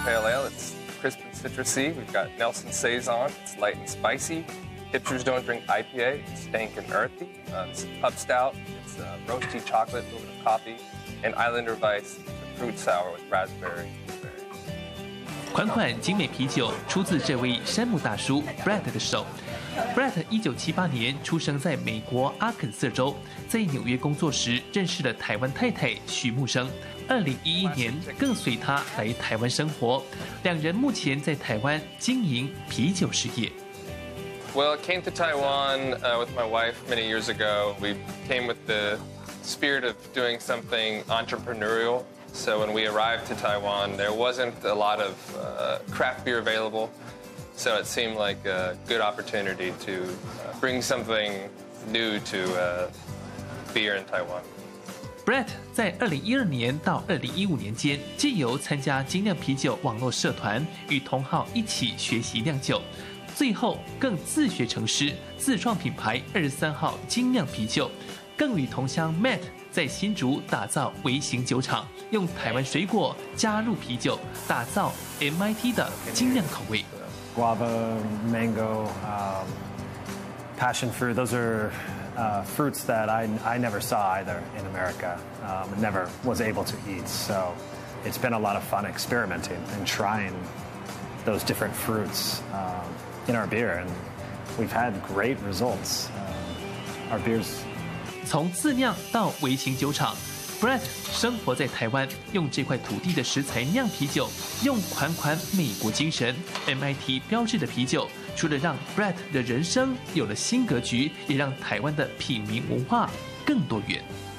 Pale Ale. It's crisp and citrusy. We've got Nelson Saison. It's light and spicy. Hipsters Don't Drink IPA. It's dank and earthy. This is Pub Stout. It's roasty chocolate, a little bit of coffee. And Islander Vice, a fruit sour with raspberry. 款款精美啤酒出自这位山姆大叔 Brett 的手。Brett 1978年出生在美国阿肯色州，在紐約工作時認識了台灣太太許木生。2011年更隨他來台灣生活，兩人目前在台灣經營啤酒事業。 Well, I came to Taiwan with my wife many years ago. We came with the spirit of doing something entrepreneurial. So when we arrived to Taiwan, there wasn't a lot of craft beer available. So it seemed like a good opportunity to bring something new to beer in Taiwan. Brett 在2012年到2015年間，藉由參加精釀啤酒網絡社團，與同好一起學習釀酒，最後更自學成師，自創品牌23號精釀啤酒，更與同鄉 Matt 在新竹打造微型酒廠，用台灣水果加入啤酒，打造 MIT 的精釀口味。 Guava, mango, passion fruit, those are fruits that I never saw either in America, never was able to eat. So it's been a lot of fun experimenting and trying those different fruits in our beer, and we've had great results. Our beers. 從自釀到微型酒廠 ，Brett 生活在台灣，用這塊土地的食材釀啤酒，用款款美國精神 MIT 標誌的啤酒，除了讓 Brett 的人生有了新格局，也讓台灣的品茗文化更多元。